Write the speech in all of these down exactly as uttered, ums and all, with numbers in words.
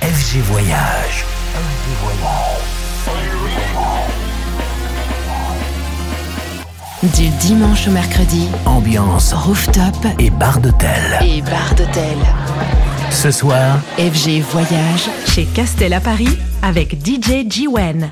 F G Voyage. F G Voyage. Du dimanche au mercredi, ambiance rooftop et bar d'hôtel. Et bar d'hôtel. Ce soir, F G Voyage chez Castel à Paris avec D J G-Wen.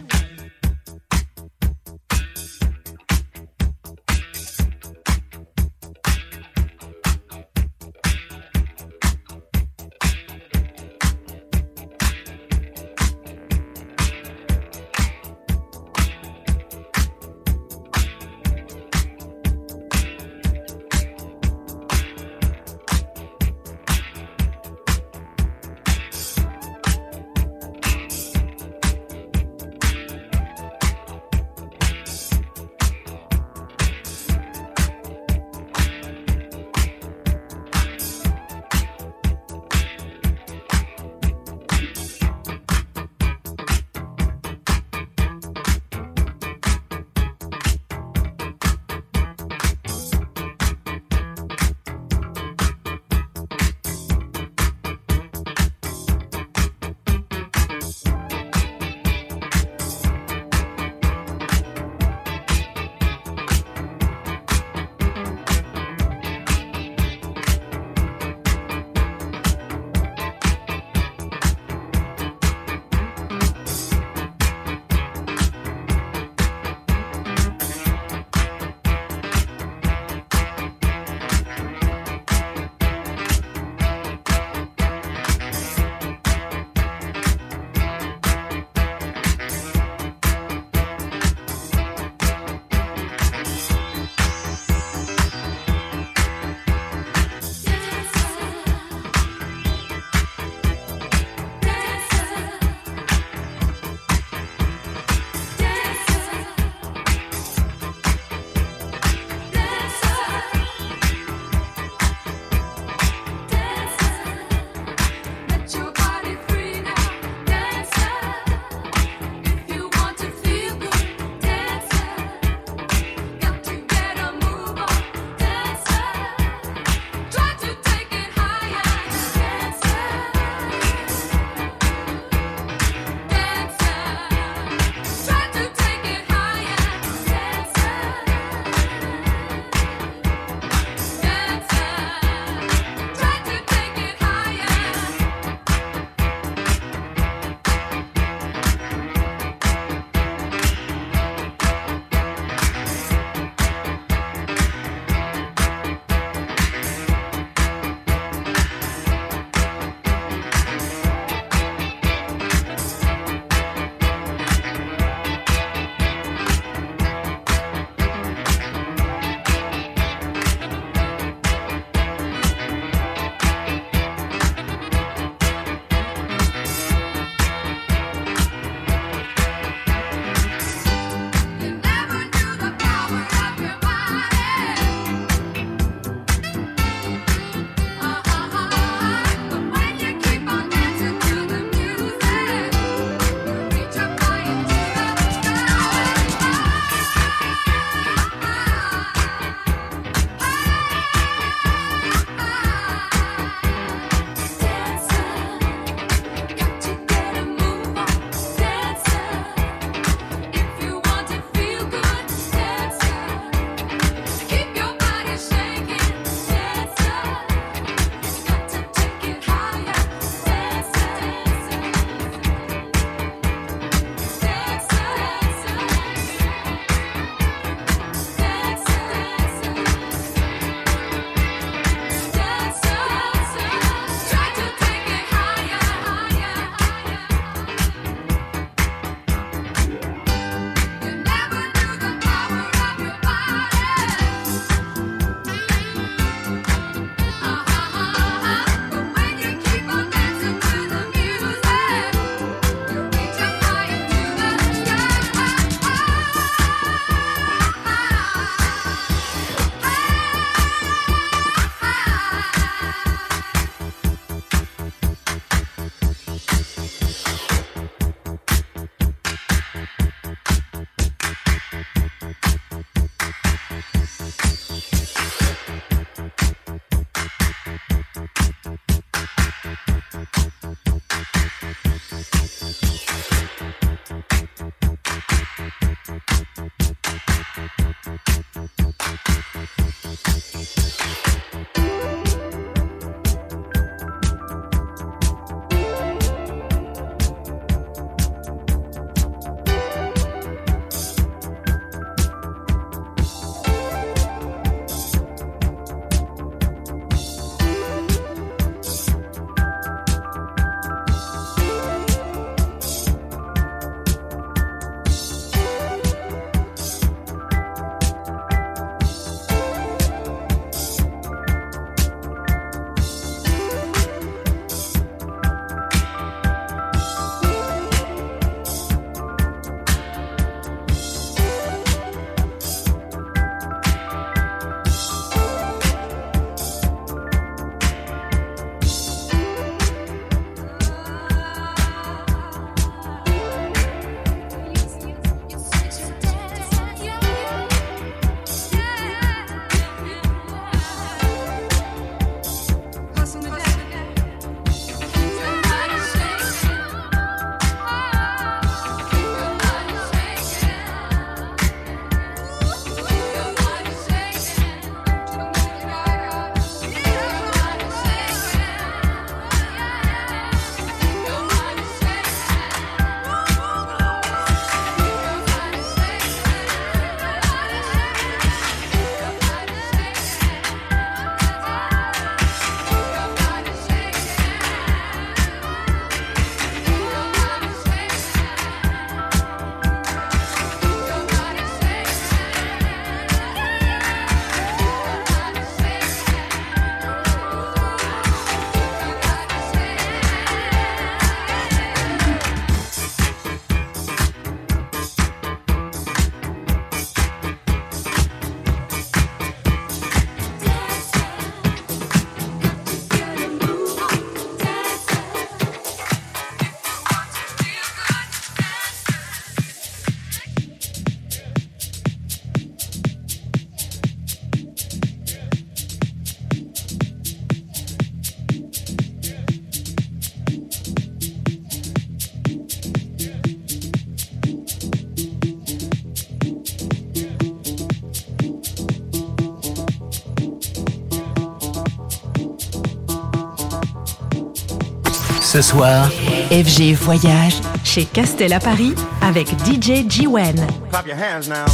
Ce soir, F G Voyage chez Castel à Paris avec D J G-Wen. Clap your hands now.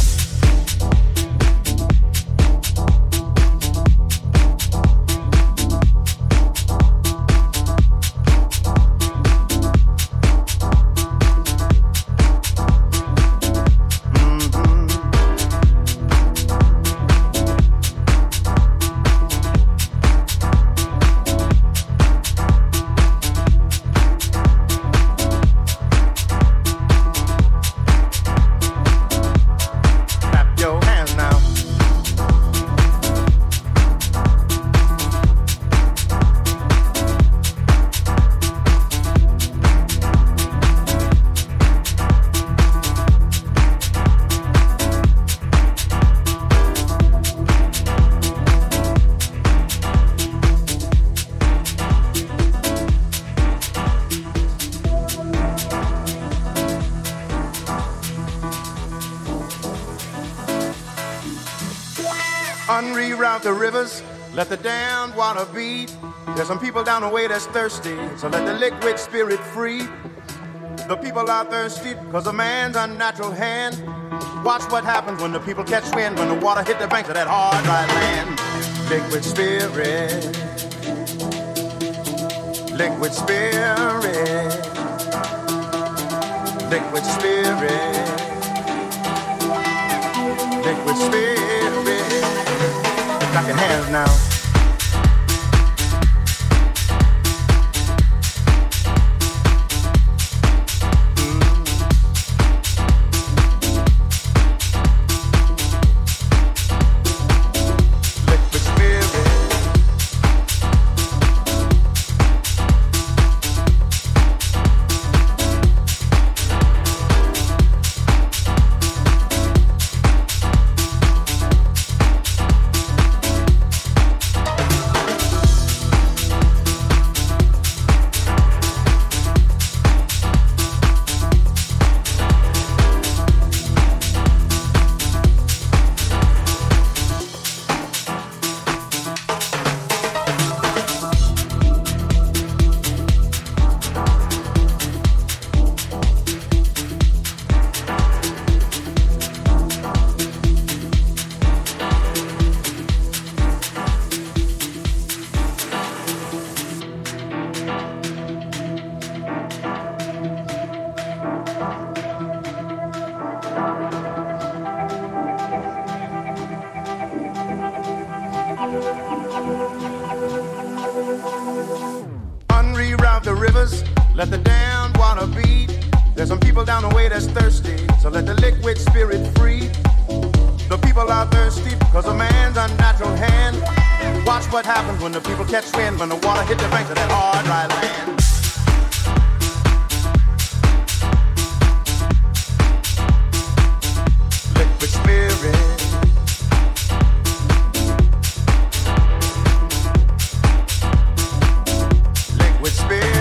Unreroute the rivers, let the damned water beat. There's some people down the way that's thirsty, so let the liquid spirit free. The people are thirsty because of man's unnatural hand. Watch what happens when the people catch wind, when the water hit the banks of that hard, dry land. Liquid spirit, liquid spirit, liquid spirit, liquid spirit. Clap your hands now. Unreroute the rivers, let the damned water beat. There's some people down the way that's thirsty, so let the liquid spirit free. The people are thirsty because of man's unnatural hand. Watch what happens when the people catch wind, when the water hit the banks of that hard, dry land. Liquid spirit, liquid spirit.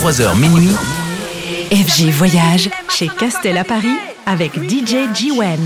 vingt-trois heures minuit. F G Voyage chez Castel à Paris avec D J G-Wen.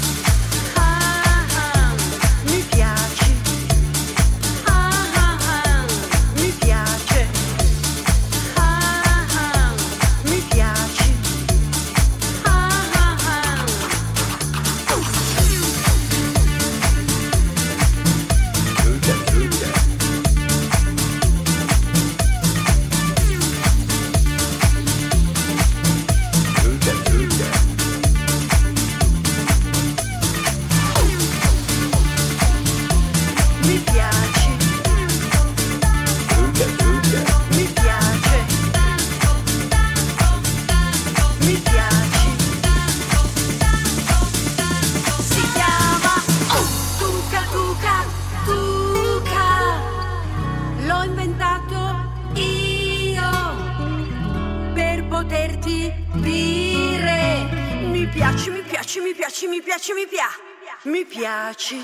Mi piaci.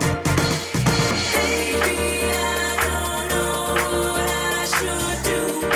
Do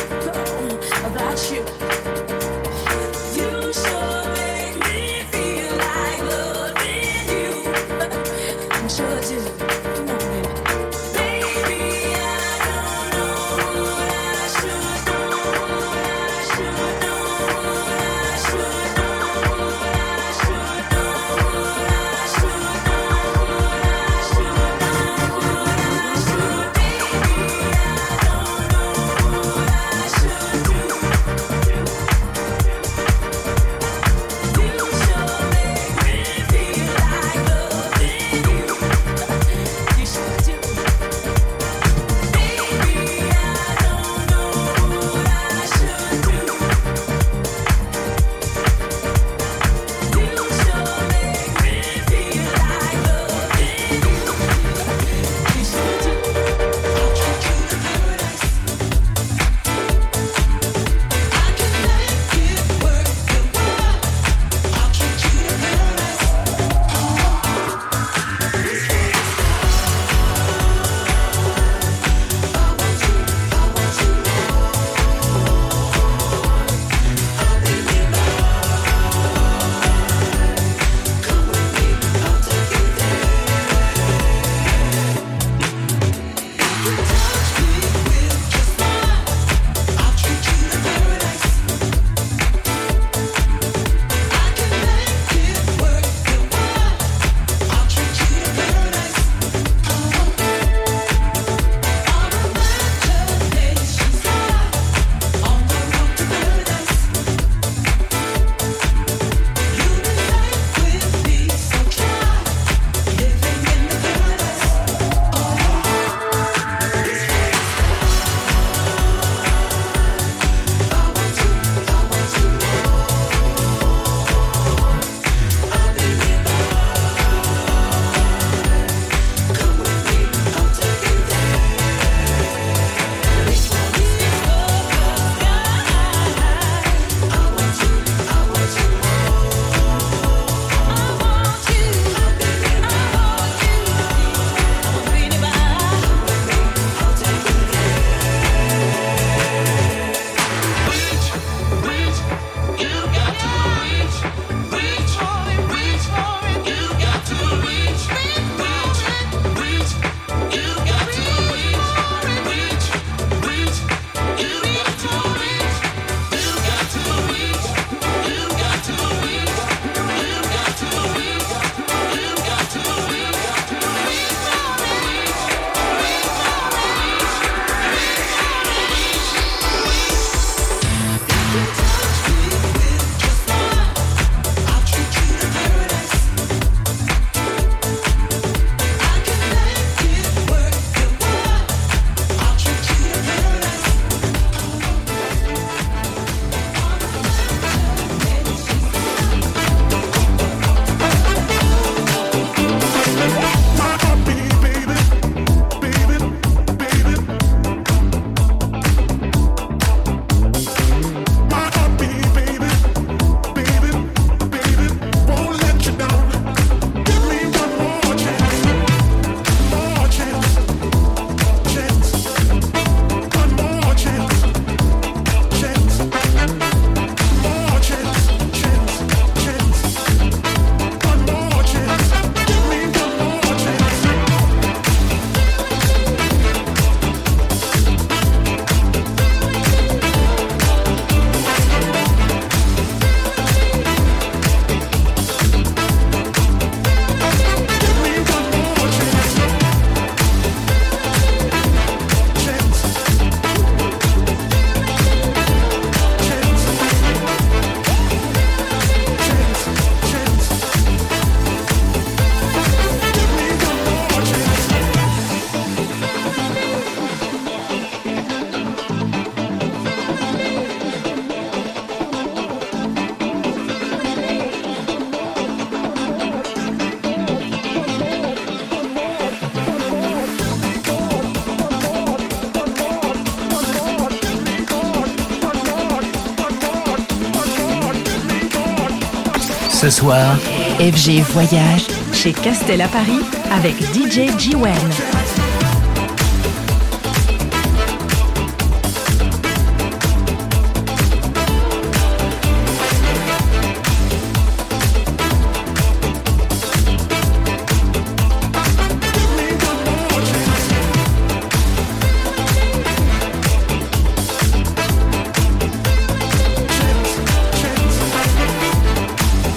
Ce soir, F G Voyage chez Castel à Paris avec D J G-Wen.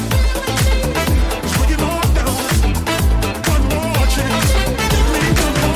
One more chance, give me one more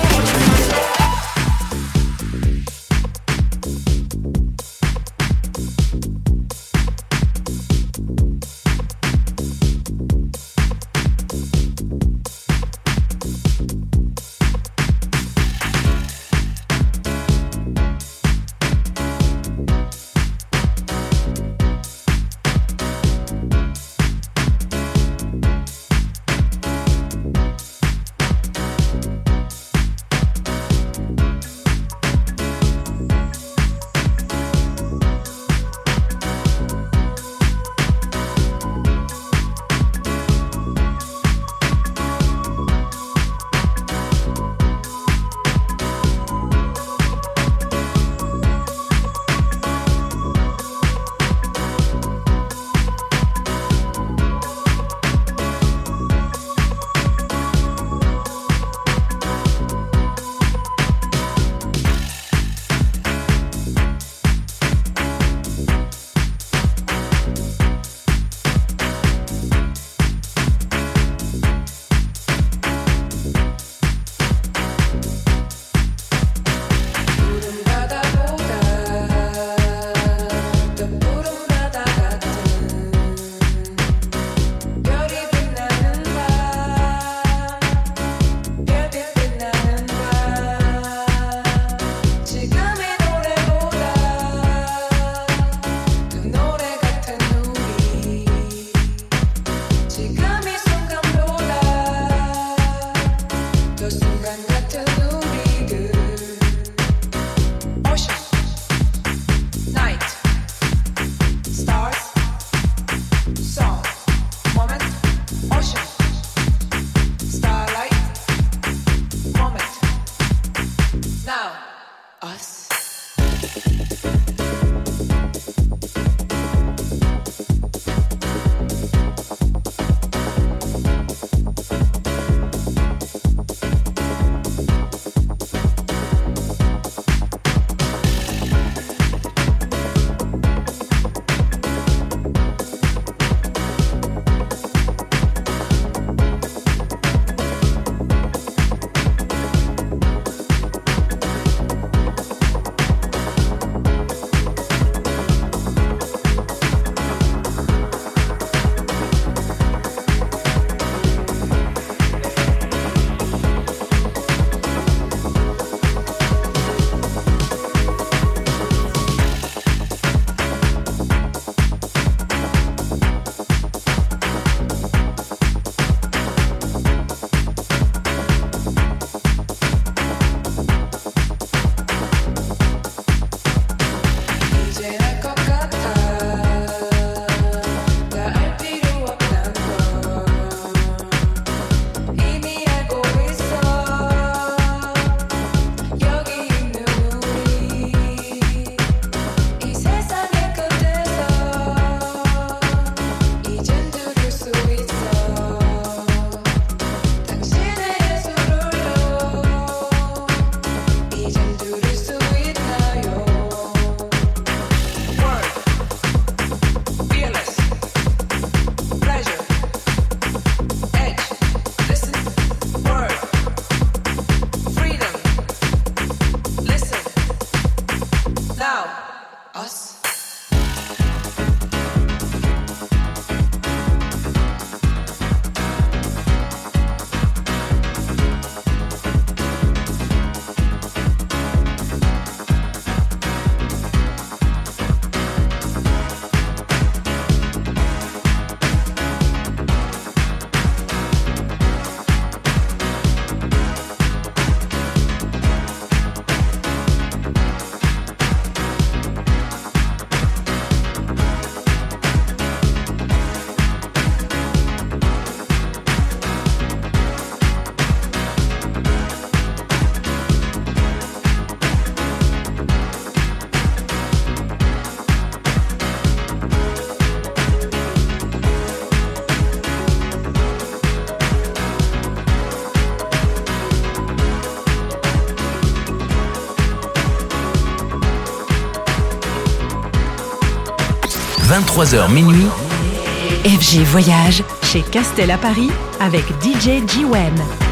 vingt-trois heures minuit. F G Voyage chez Castel à Paris avec D J G-Wen.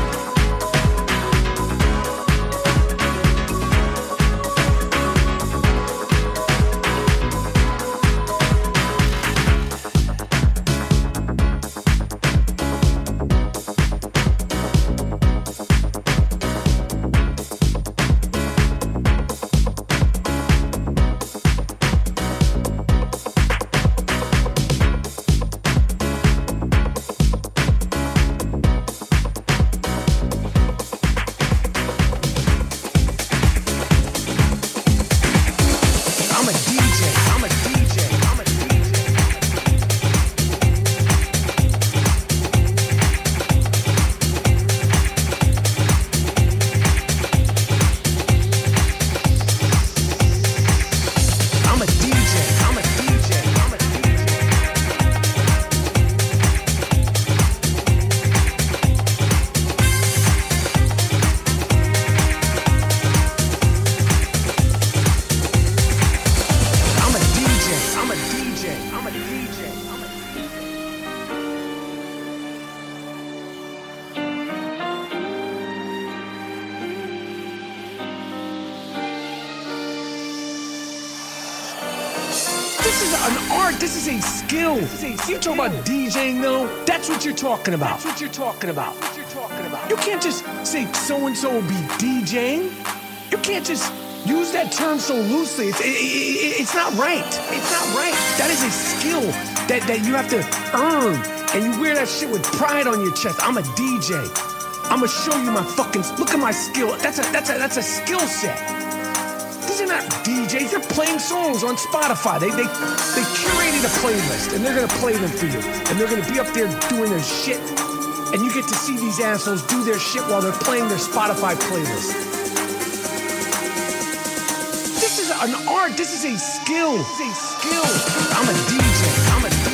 You talk about DJing though, that's what you're talking about. That's what you're talking about. What you're talking about. You can't just say so-and-so will be DJing. You can't just use that term so loosely. It's, it, it, it's not right. It's not right. That is a skill that, that you have to earn. And you wear that shit with pride on your chest. I'm a D J. I'm gonna show you my fucking, look at my skill. That's a, that's a, that's a skill set. These are not D Js, they're playing songs on Spotify. They, they, they curated a playlist and they're gonna play them for you. And they're gonna be up there doing their shit. And you get to see these assholes do their shit while they're playing their Spotify playlist. This is an art, this is a skill. This is a skill. I'm a D J, I'm a D J.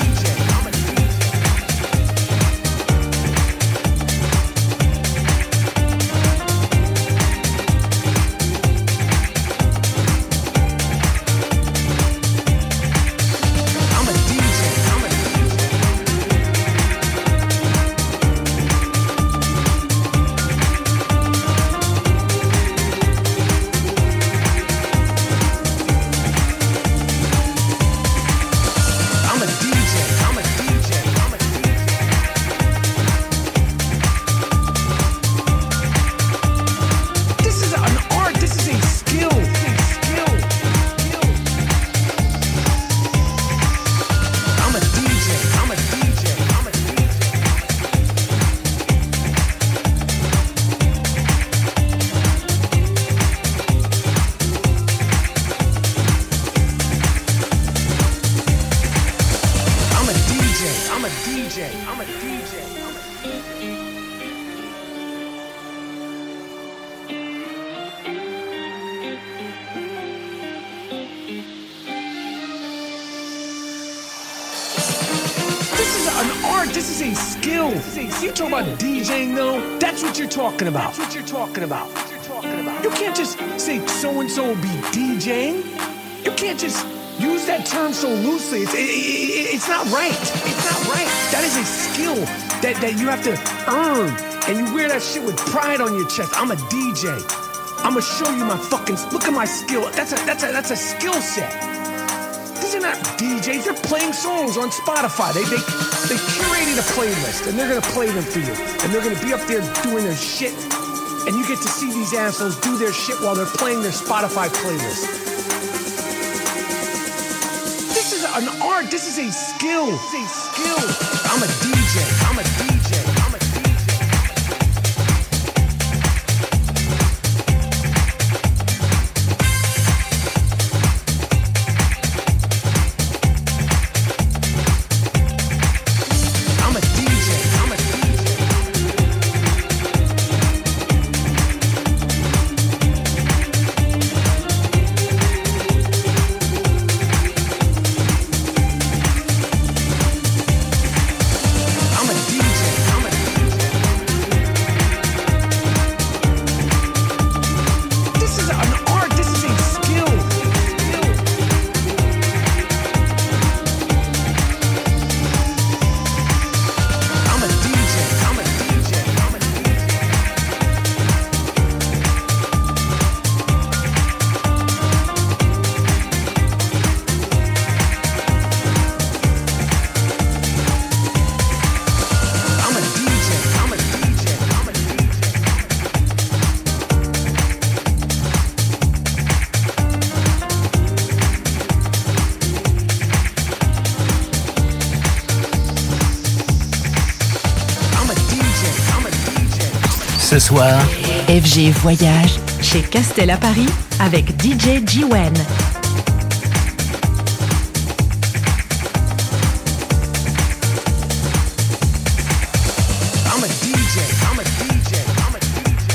Talking about. That's what you're talking about. What you're talking about. You can't just say so-and-so will be DJing. You can't just use that term so loosely. It's, it, it, it's not right. It's not right. That is a skill that, that you have to earn. And you wear that shit with pride on your chest. I'm a D J. I'm gonna show you my fucking, look at my skill. That's a, that's a, that's a skill set. These are not D Js, they're playing songs on Spotify. They, they, they curated a playlist and they're gonna play them for you. And they're gonna be up there doing their shit. And you get to see these assholes do their shit while they're playing their Spotify playlist. This is an art, this is a skill. This is a skill. I'm a D J, I'm a D J, I'm a D J. I'm a Ce soir, F G Voyage chez Castel à Paris avec D J G-Wen. I'm a D J, I'm a D J, I'm a D J.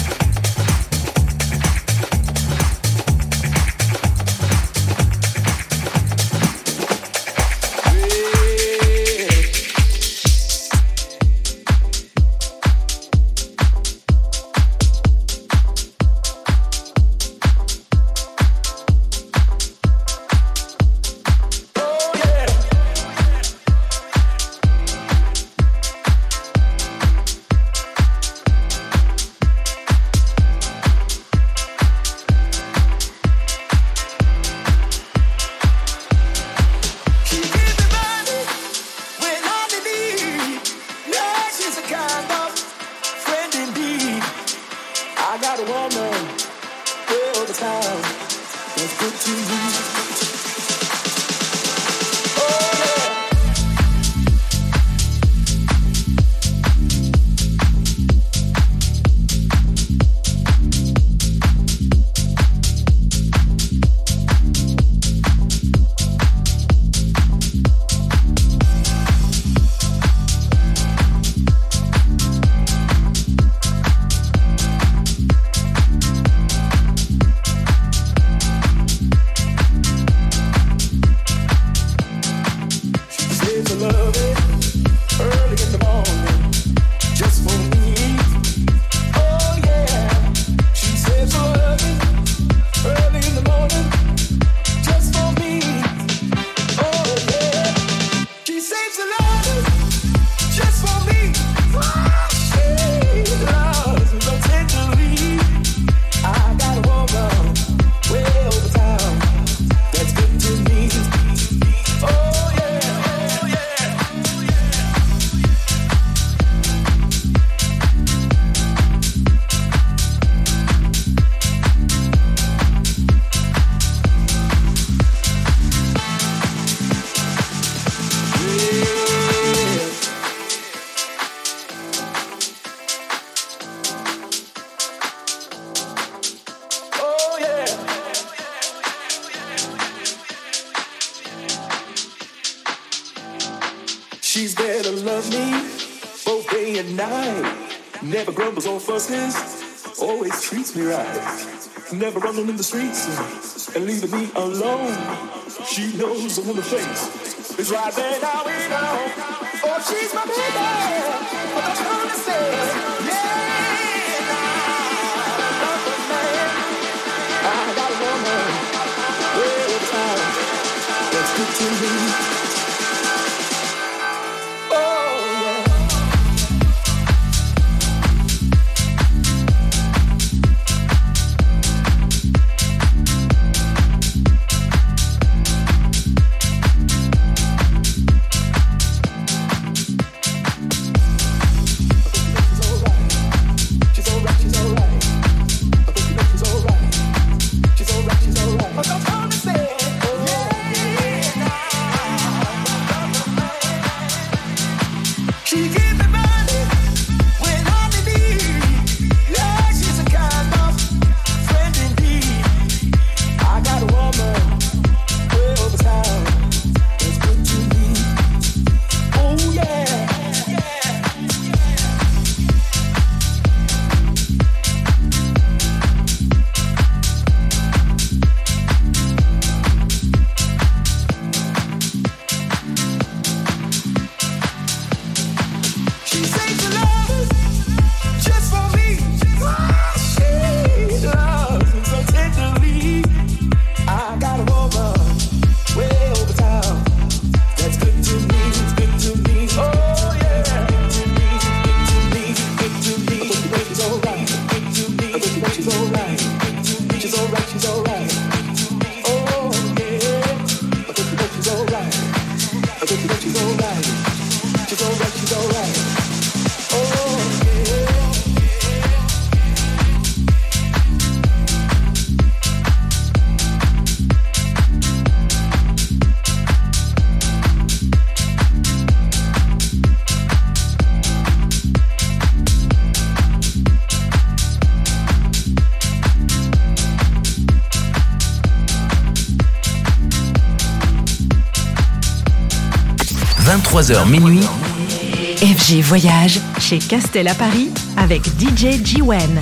She's there to love me both day and night. Never grumbles or fusses, always treats me right. Never running in the streets and leaving me alone. She knows the woman face is right there now we know. Oh, she's my baby, but I'm trying to say, yeah, nah, love the man. I got a woman, all the time, that's good to me. But I'm gonna say, oh, yeah, nah. vingt-trois heures minuit. F G Voyage chez Castel à Paris avec D J G-Wen.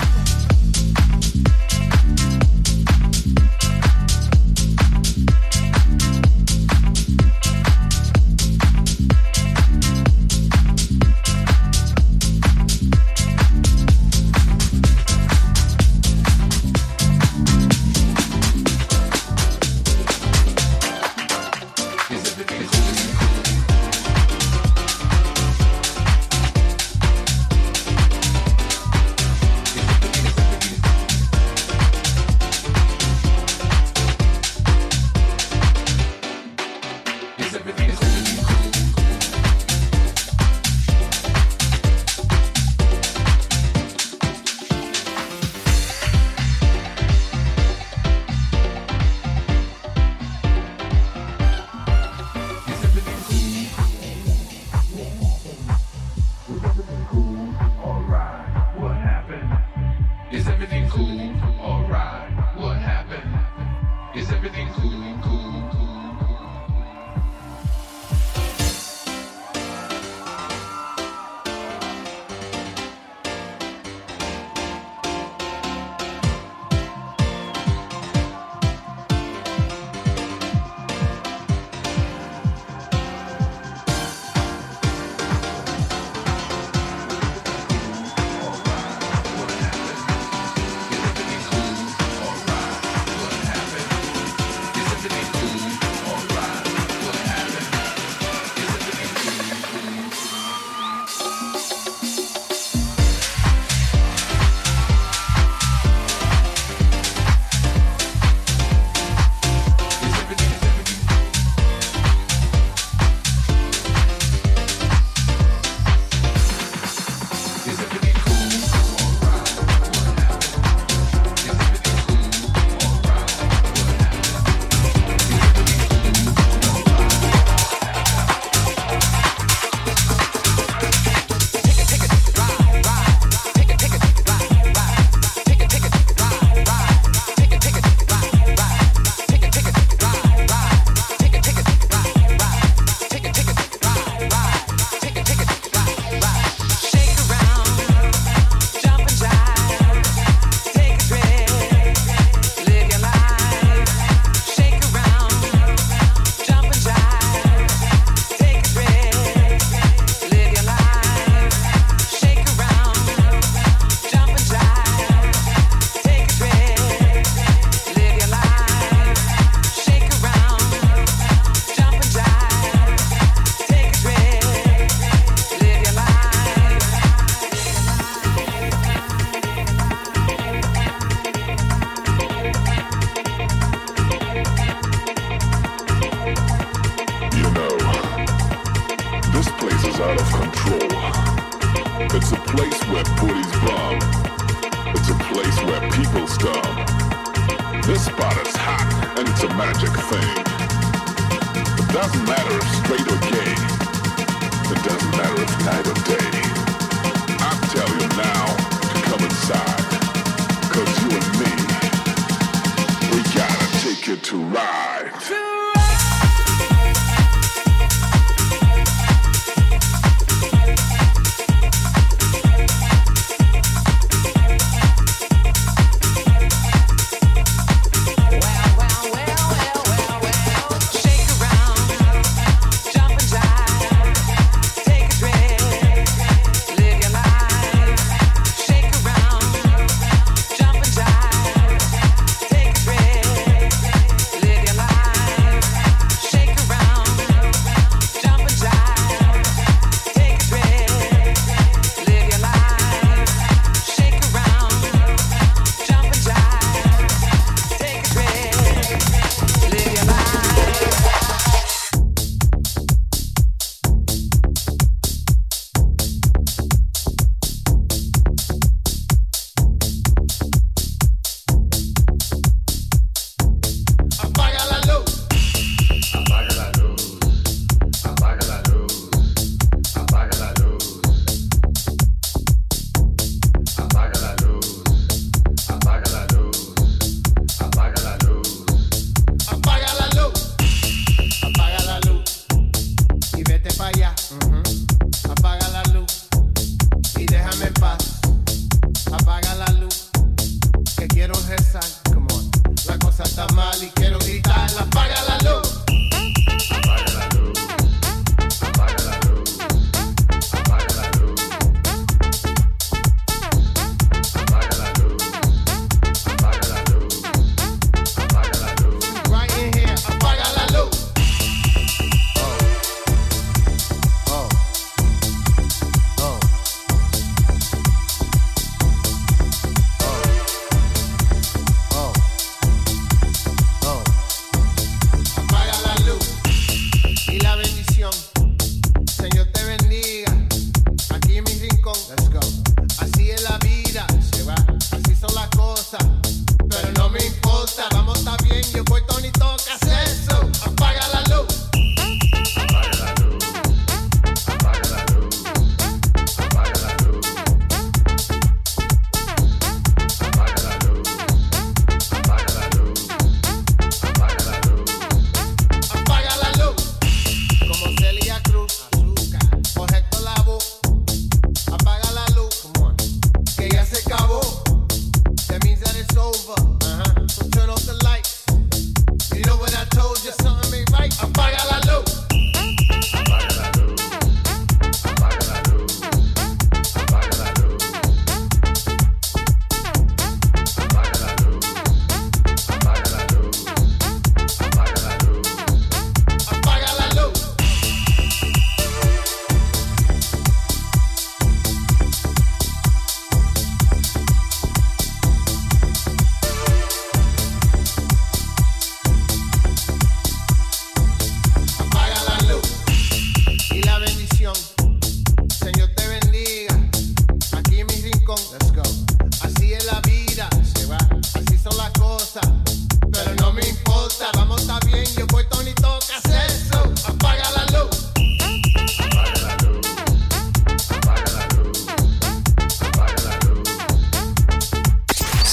Take a trip, live your life.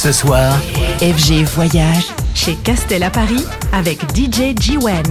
Ce soir, F G Voyage chez Castel à Paris avec D J G-Wen.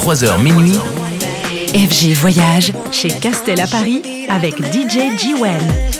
vingt-trois heures minuit. F G Voyage chez Castel à Paris avec D J G-Wen.